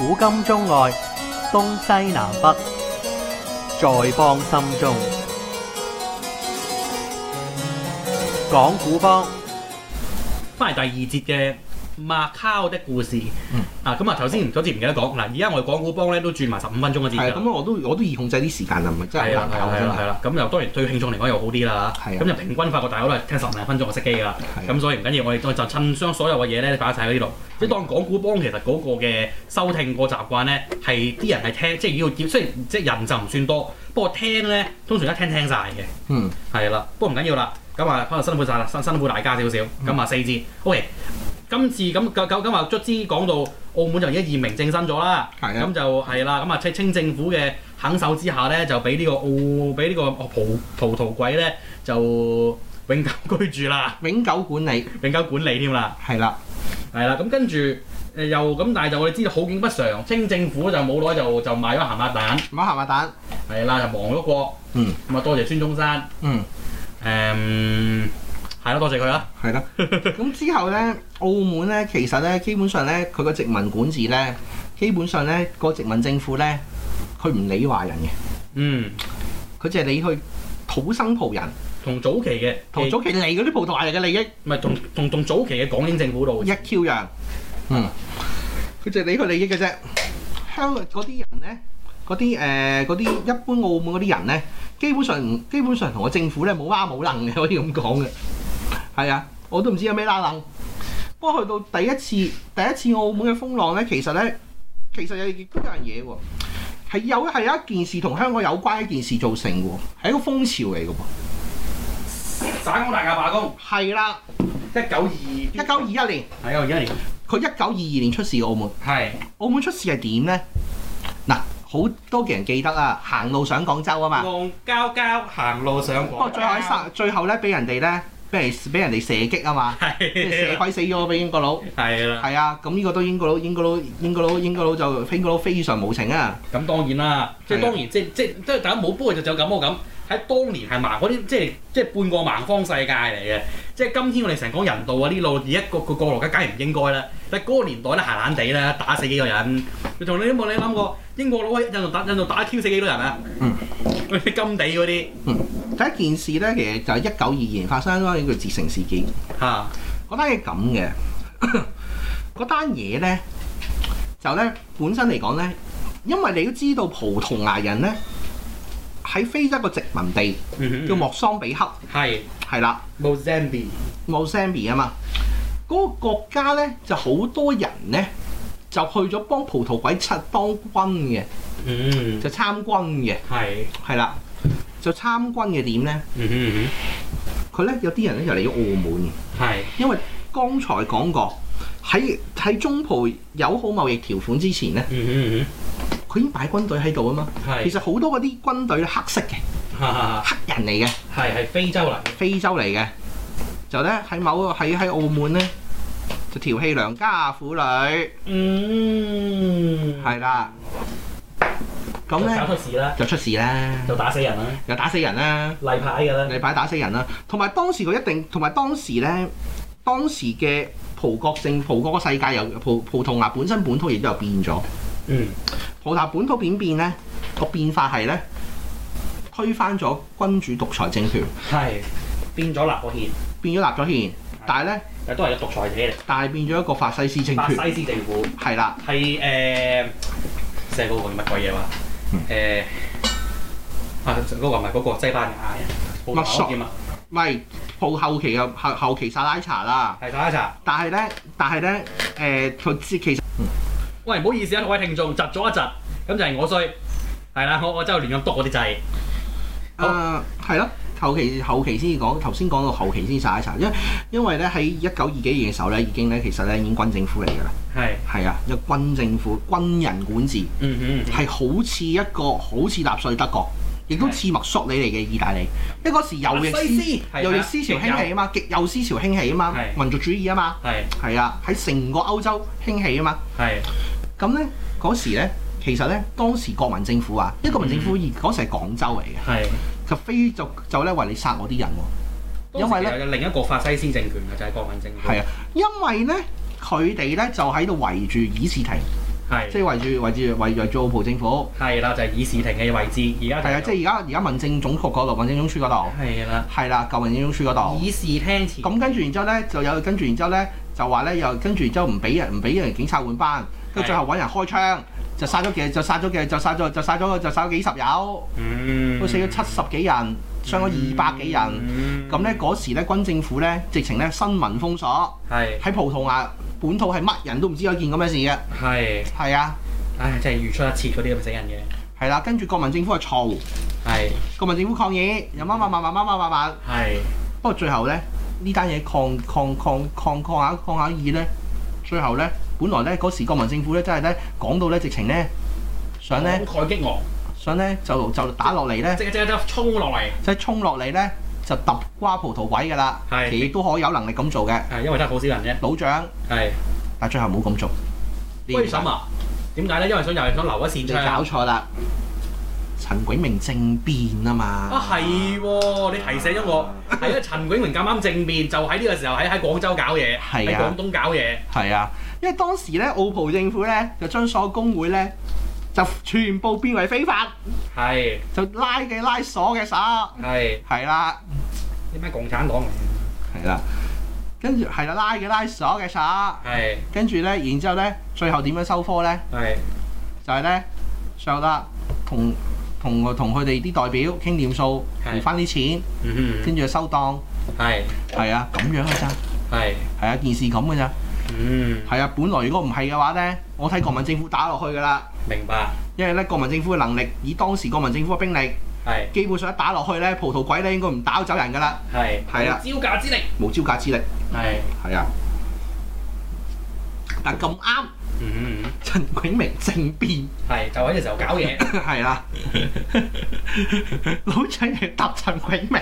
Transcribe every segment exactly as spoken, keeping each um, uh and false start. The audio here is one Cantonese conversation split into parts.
古今中外，東西南北，在邦心中。講故邦， 翻嚟第二節嘅馬卡的故事。嗯、啊，咁啊頭先嗰節唔記得講嗱，而家我哋講故邦咧都轉埋十五分鐘一節㗎。 咁我都我都易控制啲時間啊，唔係真係好難搞係啦係啦，咁又當然對聽眾嚟講又好啲啦。咁就平均發覺大家都係聽十零分鐘就熄機㗎啦。咁所以唔緊要，我哋就趁將所有嘅嘢咧擺晒喺呢度。即係當講故邦，其實嗰個嘅收聽個習慣咧，係啲人係聽，即係要要，雖然即係人就唔算多，不過聽咧通常一聽聽晒嘅。嗯，係啦，不過唔緊要啦。咁啊，可能辛苦晒啦，辛辛苦大家少少。咁啊、嗯，四節 OK。今次咁咁咁啊，卒之講到澳門就已經驗明正身咗啦。係啊。咁就係啦。咁啊，清清政府嘅肯手之下咧，就俾呢個澳俾呢個葡葡萄鬼咧，就永久居住啦。 永久管理， 永久管理添啦。係啦，係啦。咁跟住誒又咁，但係就我哋知道好景不常，清政府就冇耐就就賣咗鹹鴨蛋。 買鹹鴨蛋。係啦，就亡咗國。嗯。咁啊，多謝孫中山。嗯。誒，係咯、um，多謝佢啦。係啦。 咁之後咧，澳門咧，其實咧，基本上咧，佢個殖民管治咧，基本上咧，個殖民政府咧，佢唔理華人嘅。嗯。佢淨係理去土生葡人。 同早期嘅， 同早期嚟嗰啲葡萄牙人嘅利益。 唔係，同同同早期嘅港英政府度。 一 Q 樣。嗯。佢淨係理佢利益嘅啫。香港嗰啲人咧，嗰啲誒嗰啲一般澳門嗰啲人咧。基本上唔，基本上同個政府咧冇媽冇能嘅，可以咁講嘅。係啊，我都唔知有咩拉冷。不過去到第一次，第一次澳門嘅風浪咧，其實咧，其實亦都有樣嘢喎，係有係有一件事同香港有關一件事造成嘅喎，係一個風潮嚟嘅噃。 省港大罷工。係啦。一九二一九二一年。 係啊，二一年。 佢一九二二年出事澳門。係。澳門出事係點咧？嗱。好多嘅人記得啊，行路上廣州啊嘛， 戇交交行路上廣州。不過最後喺殺，最後咧俾人哋咧，俾人俾人哋射擊啊嘛，射鬼死咗俾英國佬。係啦。係啊，咁呢個都英國佬，英國佬，英國佬，英國佬就英國佬非常無情啊。 咁當然啦，即係當然，即即即係大家冇，不過就就咁我咁喺當年係盲嗰啲，即係即係半個盲方世界嚟嘅。即係今天我哋成日講人道啊，呢路而一個個過路梗係唔應該啦。但係嗰個年代咧，閒閒地咧，打死幾個人。你同你有冇你諗過英國佬喺印度打印度打 Q 死幾多人啊？嗯，嗰啲金地嗰啲。 嗯，第一件事咧，其實就係一九二二年發生咗呢個捷成事件。嚇、啊，嗰單嘢咁嘅，嗰單嘢咧就咧本身嚟講咧，因為你都知道葡萄牙人咧喺非洲個殖民地、嗯、叫莫桑比克。係係啦 ，Mozambique，Mozambique 啊嘛。嗰、那個國家咧就好多人咧就去咗幫葡萄鬼出當軍嘅，嗯，就參軍嘅，係係啦，就參軍嘅點咧？嗯哼嗯哼，佢咧有啲人咧就嚟咗澳門嘅，係因為剛才講過喺喺中葡友好貿易條款之前咧，嗯哼嗯哼，佢已經擺軍隊喺度啊嘛，係其實好多嗰啲軍隊咧黑色嘅，黑人嚟嘅，係係非洲嚟，非洲嚟嘅。就咧喺某喺喺澳門咧，就調戲良家婦女，嗯，係啦，咁咧搞出事啦， 就出事啦， 就打死人啦， 又打死人啦， 例牌㗎啦， 例牌打死人啦，同埋當時佢一定，同埋當時咧，當時嘅葡國政葡國個世界又葡葡萄牙本身本土亦都有變咗，嗯，葡萄牙本土點變咧？個變化係咧推翻咗君主獨裁政權，係變咗立個憲。 變咗立咗憲，但係咧， 誒都係個獨裁者嚟。但係變咗一個法西斯政權。 法西斯政府係啦， 係誒，即係嗰個叫乜鬼嘢話？誒啊，嗰個唔係嗰個西班牙人。 乜索？唔係後後期嘅後後期薩拉查啦。係薩拉查。但係咧，但係咧，誒佢知其實。 喂，唔好意思啊，各位聽眾，窒咗一窒，咁就係我衰。係啦，我我真係亂咁篤嗰啲掣。 誒係咯。後期後期先至講，頭先講到後期先查一查，因為因為咧喺一九二幾年嘅時候咧，已經咧其實咧已經軍政府嚟㗎啦。係係啊，一個軍政府軍人管治，嗯嗯，係好似一個好似納粹德國，亦都似墨索里尼嘅意大利。因為嗰時右翼思右翼思潮興起啊嘛，極右思潮興起啊嘛，民族主義啊嘛，係係啊，喺成個歐洲興起啊嘛。係咁咧嗰時咧，其實咧當時國民政府啊，因為國民政府嗰時係廣州嚟嘅。係。就非就就咧為你殺我啲人喎，因為咧另一個法西斯政權嘅就係國民政府。 係啊，因為咧佢哋咧就喺度圍住議事亭， 係即係圍住圍住圍圍住澳葡政府。 係啦，就係、是、議事亭嘅位置，而家係啊，即係而家而家民政總局嗰度，民政總署嗰度。 係啦， 係啦，舊民政總署嗰度。 議事廳前。咁跟住然之後咧，就有跟住然之後咧，就話咧又跟住然之後唔俾人唔俾人警察換班，跟住最後揾人開槍，就殺咗幾就殺咗幾就殺咗就殺咗就殺咗幾十友， 嗯， 都死咗七十幾人，傷咗二百幾人。咁咧嗰時咧軍政府咧直情咧新聞封鎖， 係喺葡萄牙本土係乜人都唔知有件咁嘅事嘅。係係啊， 唉，真係如出一轍嗰啲咁死人嘅。係啦，跟住國民政府就嘈，係國民政府抗議，又乜乜乜乜乜乜乜乜，係。不過最後咧呢單嘢抗抗抗抗抗下抗下議咧，最後咧本來咧嗰時國民政府咧真係咧講到咧直情咧想咧慷慨激昂， 想咧就就打落嚟咧， 即即即衝落嚟， 即係衝落嚟咧就揼瓜葡萄鬼㗎啦。係，其實亦都可以有能力咁做嘅。係，因為得好少人啫。老蔣係，但最後冇咁做。 為什麼？點解咧？因為想又係想留一線槍。你搞錯啦！陳炯明政變啊嘛！ 啊係喎，你提醒咗我，係啊，陳炯明咁啱政變，就喺呢個時候喺喺廣州搞嘢，喺廣東搞嘢。係啊， 因為當時咧澳葡政府咧就將所有工會咧就全部變為非法，係就拉嘅拉鎖嘅鎖，係係啦， 啲咩共產黨嚟嘅？ 係啦，跟住係啦，拉嘅拉鎖嘅鎖，係跟住咧，然之後咧，最後點樣收科咧？係就係咧，最後啦，同。同同佢哋啲代表傾掂數，賠翻啲錢，跟住就收檔，係係啊，咁樣嘅咋，係係啊，件事咁嘅咋，嗯，係啊，本來如果唔係嘅話咧，我睇國民政府打落去㗎啦，明白，因為咧國民政府嘅能力，以當時國民政府嘅兵力，係基本上一打落去咧，葡萄鬼咧應該唔打走人㗎啦，係係啊，招架之力，冇招架之力，係係啊，但咁啱。嗯，陳炯明政變係就喺呢個時候搞嘢， 係啦，老蔣嚟揼陳炯明，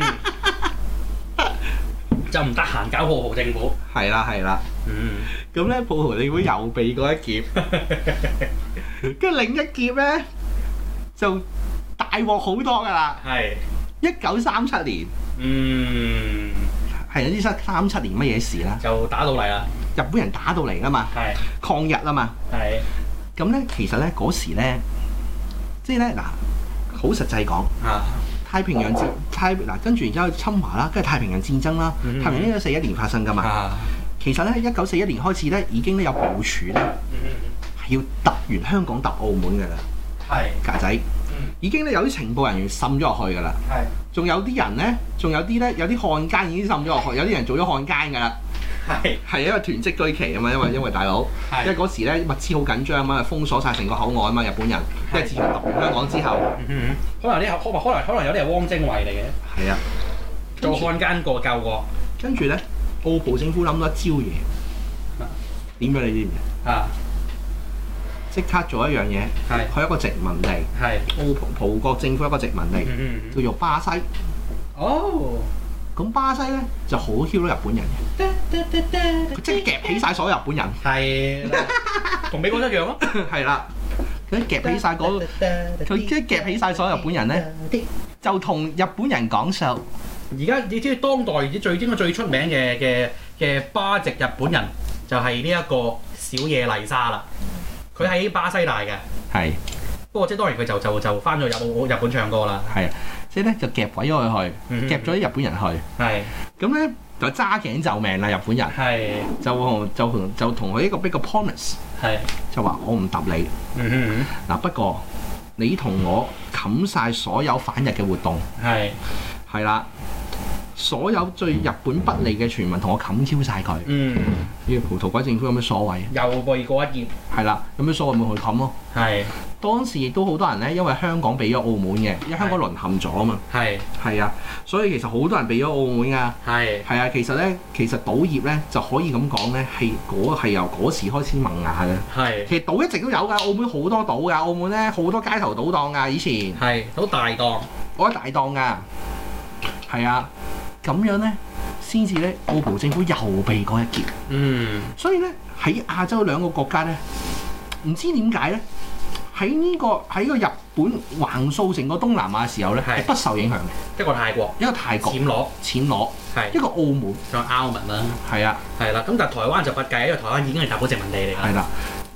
就唔得閒搞葡萄政府， 係啦係啦，嗯，咁咧葡萄政府又避過一劫，跟住另一劫咧就大鑊好多㗎啦，係一九三七年，嗯，係唔知三七年乜嘢事啦， 就打到嚟啦。 日本人打到嚟啦嘛，抗日啊嘛，咁咧其實咧嗰時咧，即係咧嗱，好實際講，太平洋戰太嗱跟住然之後侵華啦，跟住太平洋戰爭啦，嗯、太平洋一九四一年發生噶嘛，啊、其實咧一九四一年開始咧已經咧有部署咧，係要揼完香港揼澳門噶啦，係架仔，已經咧有啲情報人員滲咗落去噶啦，係，仲有啲人咧，仲有啲咧有啲漢奸已經滲咗落去，有啲人做咗漢奸噶啦。係係因為囤積居奇啊嘛，因為因為大佬，因為嗰時咧物資好緊張啊嘛，封鎖晒成個口岸啊嘛，日本人，即係自從揼完香港之後，嗯、 可能啲可可能可能有啲係汪精衛嚟嘅， 係啊， 做漢奸過救過， 跟住咧澳葡政府諗到一招嘢，點樣你知唔知啊？即刻做一樣嘢，係佢一個殖民地，係澳葡葡國政府一個殖民地，嗯、叫做巴西，哦。咁巴西咧就好囂到日本人嘅，佢即係夾起晒所有日本人，係同美國一樣咯， 係啦，佢夾起晒嗰、那個，佢即係夾起晒所有日本人咧，就同日本人講數。 而家你知當代最應該最出名嘅嘅嘅巴籍日本人就係呢一個小野麗莎啦，佢喺巴西大嘅，係。不過即係當然佢就就就翻咗入日本唱歌啦， 係啊，即係咧就夾鬼咗佢去，嗯、夾咗啲日本人去，係咁咧就揸頸就命啦，日本人係就就同就同佢一個逼個 promise， 係就話我唔揼你，嗯哼嗯嗱不過你同我冚晒所有反日嘅活動，係係啦。所有對日本不利嘅傳聞同我冚 Q 晒佢。嗯，呢個葡萄鬼政府有咩所謂？ 又避過一劫。係啦，有咩所謂咪去冚咯？係。當時亦都好多人咧，因為香港俾咗澳門嘅，因為香港淪陷咗啊嘛。係。係啊，所以其實好多人俾咗澳門㗎。係。係啊，其實咧，其實賭業咧就可以咁講咧，係嗰係由嗰時開始萌芽嘅。係。其實賭一直都有㗎，澳門好多賭㗎，澳門咧好多街頭賭檔㗎，以前。係。好大檔。好大檔㗎。係啊。咁樣咧，先至咧，澳葡政府又避過一劫。嗯，所以咧喺亞洲兩個國家咧，唔知點解咧，喺呢、這個喺個日本橫掃成個東南亞嘅時候咧，係不受影響嘅。一個泰國，一個泰國，暹羅，暹羅，係一個澳門，仲有澳門啦。係啊，係啦。咁但係台灣就不計，因為台灣已經係大寶殖民地嚟㗎。係啦，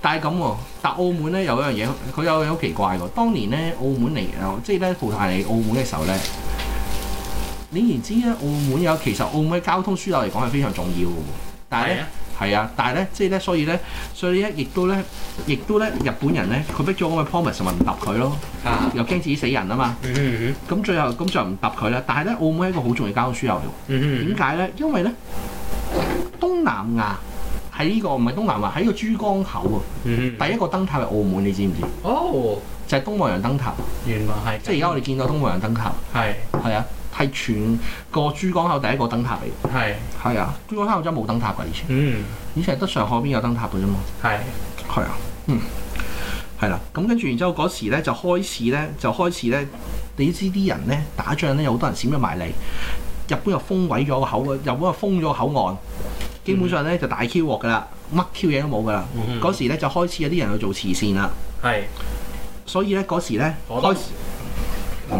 但係咁喎，但澳門咧有一樣嘢，佢有樣好奇怪喎。當年咧澳門嚟，即係咧葡萄牙嚟澳門嘅時候咧，你然知咧澳門有其實澳門嘅交通樞紐嚟講係非常重要嘅喎。但係咧係啊，但係咧即係咧，所以咧，所以咧亦都咧，亦都咧日本人咧，佢逼咗咁嘅 promise 咪唔揼佢咯，啊、又驚自己死人啊嘛。咁、嗯嗯、最後咁就唔揼佢啦。但係咧澳門係一個好重要嘅交通樞紐嚟喎。點解咧？因為咧東南亞。喺呢、這個唔係東南亞，喺個珠江口喎。嗯、第一個燈塔係澳門，你知唔知？哦，就係東望洋燈塔。原來係。即係而家我哋見到東望洋燈塔。係。係啊，係全個珠江口第一個燈塔嚟。係。係啊，珠江口真係冇燈塔㗎以前。嗯。以前係得上海邊有燈塔㗎啫嘛。係。係啊。嗯。係啦，咁跟住然之後嗰時咧就開始咧就開始咧，你知啲人咧打仗咧有好多人閃咗埋嚟，日本又封毀咗個口，日本又封咗個口岸。基本上咧就大 Q 鑊㗎啦，乜 Q 嘢都冇㗎啦。嗰、嗯、時咧就開始有啲人去做慈善啦。係。所以咧嗰時咧開始，唔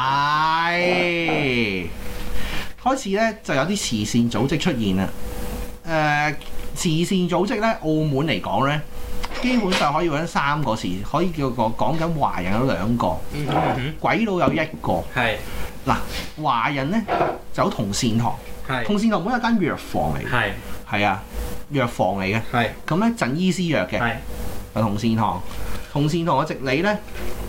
係開始咧就有啲慈善組織出現啦。誒、呃，慈善組織咧，澳門嚟講咧，基本上可以揾三個詞，可以叫個講緊華人有兩個，嗯嗯、鬼佬有一個。係。嗱，華人咧就有同善堂。同善堂本身係間藥房嚟嘅，係係啊，藥房嚟嘅，係咁咧贈醫施藥嘅，係啊同善堂，同善堂嘅直理咧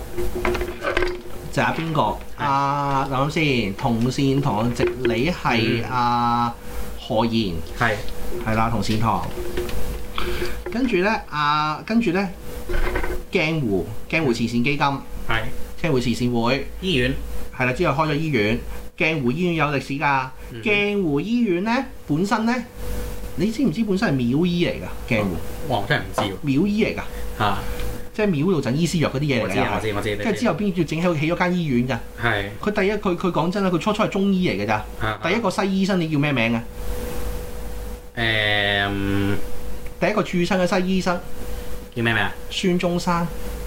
就係邊個？阿諗諗先，同善堂嘅直理係阿何賢，係係啦，同善堂。跟住咧，阿跟住咧，鏡湖鏡湖慈善基金，係鏡湖慈善會醫院，係啦，之後開咗醫院。鏡湖醫院有歷史㗎，嗯、鏡湖醫院咧本身咧，你知唔知本身係廟醫嚟㗎？鏡湖，哇！我真係唔知喎。廟醫嚟㗎，嚇、啊，即係廟度贈醫施藥嗰啲嘢嚟㗎。我知我知我知。跟住之後邊要整起起咗間醫院㗎？係。佢第一佢佢講真啦，佢初初係中醫嚟㗎咋。第一個西醫生你叫咩名啊？誒、嗯，第一個駐身嘅西醫生叫咩名啊？孫中山。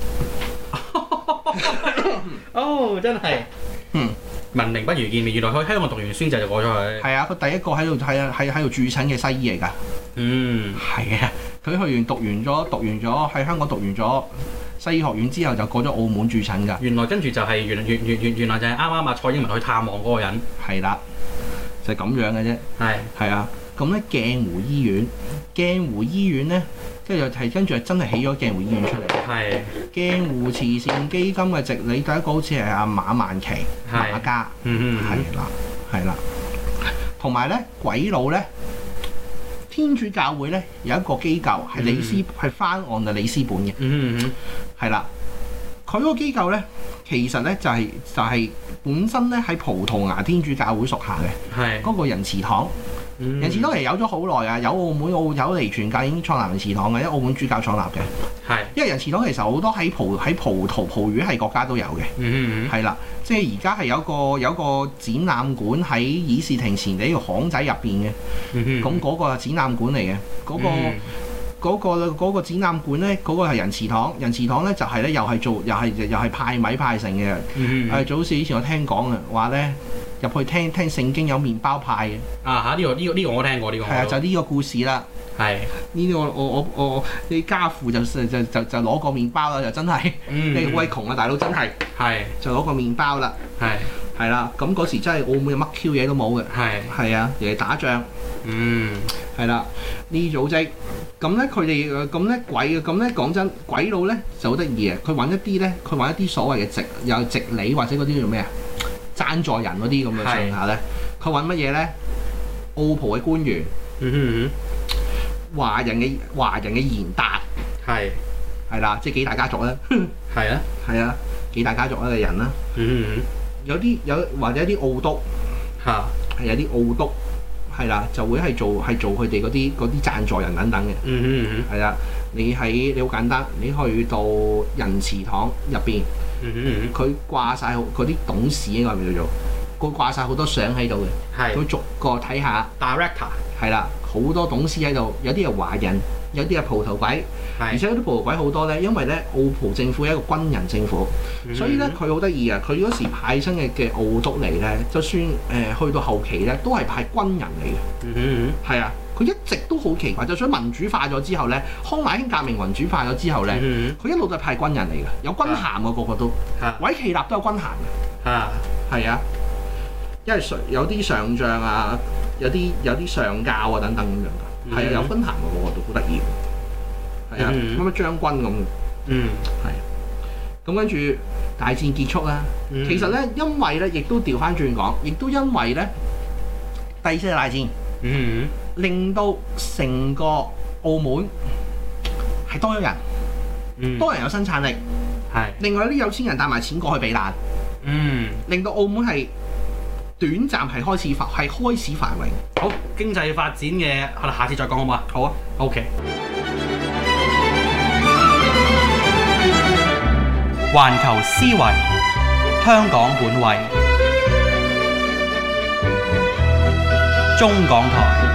哦，真係。嗯。聞名不如見面，原來佢喺香港讀完孫仔就過咗去。係啊，佢第一個喺度喺喺喺度駐診嘅西醫嚟㗎。嗯，係啊，佢去完讀完咗讀完咗喺香港讀完咗西醫學院之後，就過咗澳門駐診㗎。原來跟住就係原原原原原來就係啱啱啊蔡英文去探望嗰個人。係啦，就係、是、咁樣嘅啫。係係啊，咁咧鏡湖醫院，鏡湖醫院咧。跟住就係跟住係真係起咗鏡湖醫院出嚟。係鏡湖慈善基金嘅直理第一個好似係阿馬萬祺馬家。嗯嗯，係啦係啦。同埋咧鬼佬咧，天主教會咧有一個機構係里斯係翻案嘅里斯本嘅。嗯嗯，係啦。佢嗰個機構咧，其實咧就係、是、就係、是、本身咧喺葡萄牙天主教會屬下嘅。係嗰個仁慈堂。嗯、仁慈堂其實有咗好耐啊，有澳門澳有嚟傳教已經創立仁慈堂嘅，因為澳門主教創立嘅。係，因為仁慈堂其實好多喺葡喺葡萄葡語系國家都有嘅。嗯嗯係啦，即係而家係有個有個展覽館喺議事亭前地呢個巷仔入邊嘅。嗯咁嗰個係展覽館嚟嘅，嗰、嗰個嗰、嗯嗰個嗰個展覽館咧，嗰、嗰個係仁慈堂。仁慈堂咧就係、係、咧又係做又係又係派米派成嘅。嗯嗯就好似以前我聽講嘅話咧。入去聽聽聖經有麵包派嘅啊嚇！呢、呢個呢、呢個呢、呢個我聽過呢、呢個係啊，就呢個故事啦。係呢個我我我我你家父就就就就攞個麵包啦，就真係你好鬼窮啊，大佬真係係就攞個麵包啦。係係啦，咁嗰時真係澳門乜 Q 嘢都冇嘅。係係啊，人哋打仗。嗯，係啦，呢組織咁咧，佢哋咁咧鬼咁咧講真，鬼佬咧就好得意嘅，佢揾一啲咧，佢揾一啲所謂嘅直有直理或者嗰啲叫咩啊？贊助人嗰啲咁嘅上下咧，佢揾乜嘢咧？澳葡嘅官員，嗯哼嗯哼，華人嘅華人嘅賢達，係係啦，即係幾大家族咧，係啊係啊，幾大家族嘅人啦，嗯哼嗯哼，有啲有或者一啲澳督嚇，係有啲澳督係啦，就會係做係做佢哋嗰啲嗰啲贊助人等等嘅，嗯哼嗯哼，係啦，你喺你好簡單，你去到仁慈堂入邊。佢掛晒嗰啲董事應該係咪叫做？佢掛晒好多相喺度嘅，佢逐個睇下。Director 係啦， 好多董事喺度，有啲係華人，有啲係蒲頭鬼，而且嗰啲蒲頭鬼好多咧，因為咧澳葡政府係一個軍人政府，嗯、所以咧佢好得意啊！佢嗰時派親嘅嘅澳督嚟咧，就算誒、呃、去到後期咧，都係派軍人嚟嘅。嗯嗯，係啊，佢一直都好奇怪，就算民主化咗之後咧，康乃馨革命民主化咗之後咧，佢、嗯、一路都係派軍人嚟嘅，有軍銜嘅個個都，韋奇納都有軍銜嘅。啊，係啊，因為上有啲上將啊，有啲有啲上校啊等等咁樣㗎，係、嗯、啊，有軍銜嘅個個都好得意，係啊，乜乜、嗯、將軍咁，嗯，係，咁跟住大戰結束啦、嗯，其實咧，因為咧，亦都調翻轉講，亦都因為咧，第二次大戰，嗯，令到成個澳門係多咗人、嗯，多人有生產力，係，另外啲有錢人帶埋錢過去避難。嗯，令到澳門係短暫係開始發係開始繁榮。 好，經濟發展嘅，我哋下次再講好唔好啊？好啊 ，OK。環球思維，香港本位，中港台。